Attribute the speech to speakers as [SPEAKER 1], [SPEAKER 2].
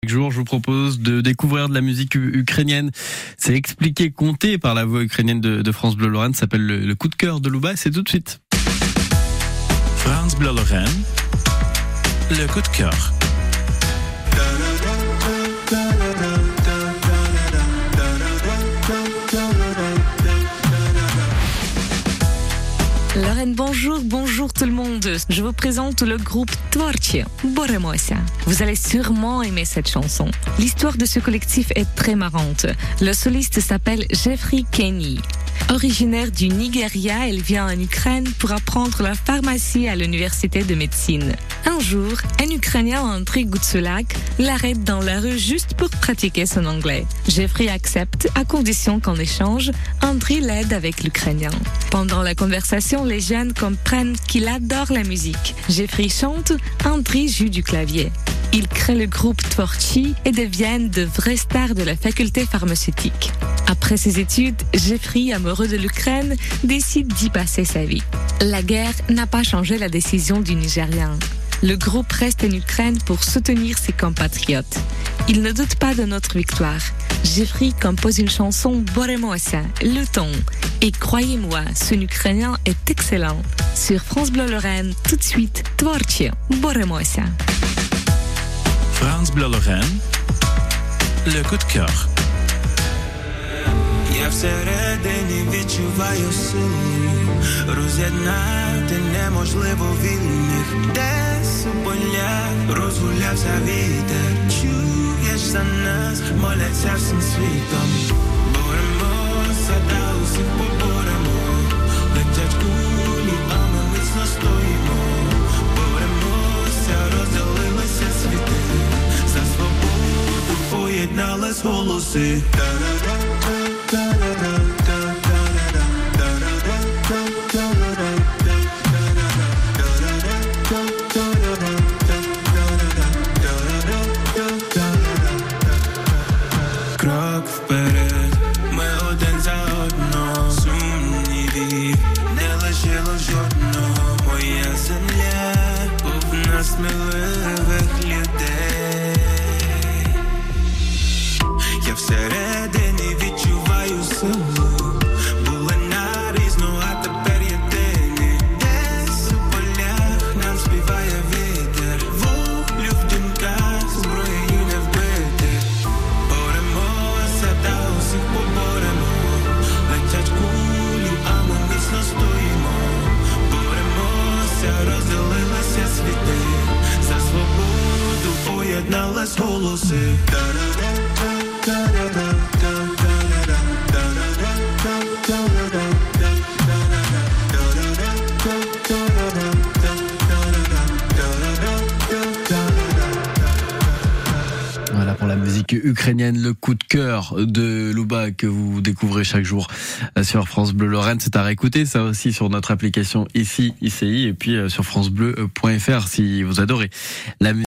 [SPEAKER 1] Chaque jour, je vous propose de découvrir de la musique ukrainienne. C'est expliqué, compté par la voix ukrainienne de France Bleu Lorraine. Ça s'appelle le coup de cœur de Luba. C'est tout de suite.
[SPEAKER 2] France Bleu Lorraine, le coup de cœur.
[SPEAKER 3] Lorraine, bonjour tout le monde. Je vous présente le groupe Tvorchi, Boremosia. Vous allez sûrement aimer cette chanson. L'histoire de ce collectif est très marrante. Le soliste s'appelle Jeffrey Kenny. Originaire du Nigeria, elle vient en Ukraine pour apprendre la pharmacie à l'université de médecine. Un jour, un Ukrainien, Andriy Gutsulak, l'arrête dans la rue juste pour pratiquer son anglais. Jeffrey accepte, à condition qu'en échange, Andriy l'aide avec l'ukrainien. Pendant la conversation, les jeunes comprennent qu'il adore la musique. Jeffrey chante, Andriy joue du clavier. Ils créent le groupe Tvorchi et deviennent de vraies stars de la faculté pharmaceutique. Après ses études, Jeffrey, amoureux de l'Ukraine, décide d'y passer sa vie. La guerre n'a pas changé la décision du Nigérian. Le groupe reste en Ukraine pour soutenir ses compatriotes. Il ne doute pas de notre victoire. Jeffrey compose une chanson Boremosia, le ton. Et croyez-moi, son ukrainien est excellent. Sur France Bleu Lorraine, tout de suite, Tvorchi, Boremosia.
[SPEAKER 2] France Bleu Lorraine, le coup de cœur.
[SPEAKER 4] Я всередині відчуваю сили, роз'єднати неможливо вільних, десь у полях розгулявся вітер, чуєш за нас, моляться всім світом. Боремося, та усіх поборемо, летять кулі, а ми міцно стоїмо. Боремося, розділилися світи, за свободу поєднались голоси. Крок вперед, ми один за одного, сумнівів не лишило жодного. Моя земля повна сміливих людей. Я всередині відчуваю силу, були нарізно, а тепер єдині. Десь у полях нам співає вітер, волю в думках, зброєю не вбити. Боремося, та усіх поборемо, летять кулі, а ми міцно стоїмо. Боремося, розділилися світи, за свободу поєднались голоси.
[SPEAKER 1] Voilà pour la musique ukrainienne, le coup de cœur de Luba que vous découvrez chaque jour sur France Bleu Lorraine. C'est à réécouter ça aussi sur notre application ici, ICI, et puis sur francebleu.fr si vous adorez la musique.